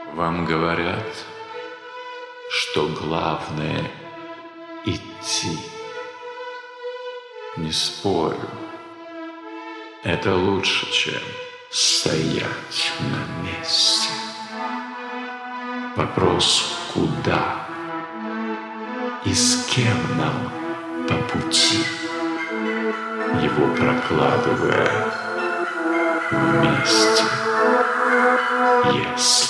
Вам говорят, что главное — идти. Не спорю, это лучше, чем стоять на месте. Вопрос — куда и с кем нам по пути, его прокладывая вместе, если